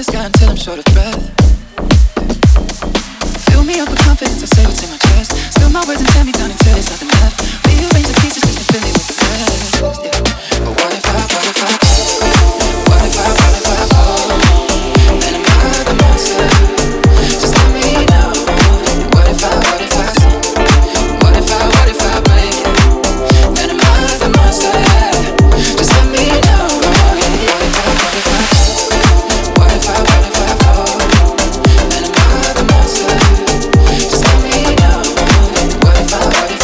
the sky until I'm short of breath. Fill me up with confidence, I say what's in my chest. Spill my words and tear me down until there's nothing left. Rearrange the pieces just to fill me with the rest. Yeah. But what if I fall? Then am I the monster? Just let me know. What if I break? Then am I the monster? Just let me know. What if I fall? Then am I the monster? Just let me know. What if I break?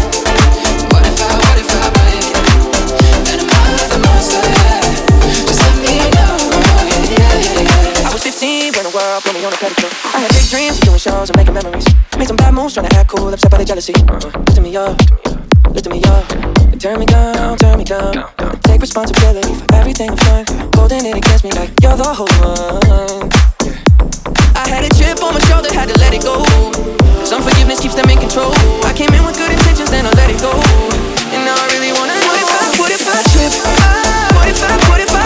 Then am I the monster? Just let me know. I was 15 when the world put me on a pedestal. I had big dreams of doing shows and making memories. Made some bad moves trying to act cool, upset by the jealousy. Lifting me up, and turn me down. Take responsibility for everything I've done. Holding it against me like you're the whole one. I had a chip on my shoulder, had to let it go. Some forgiveness keeps them in control. I came in with good intentions, then I let it go. And now I really wanna know, what if I trip? What if I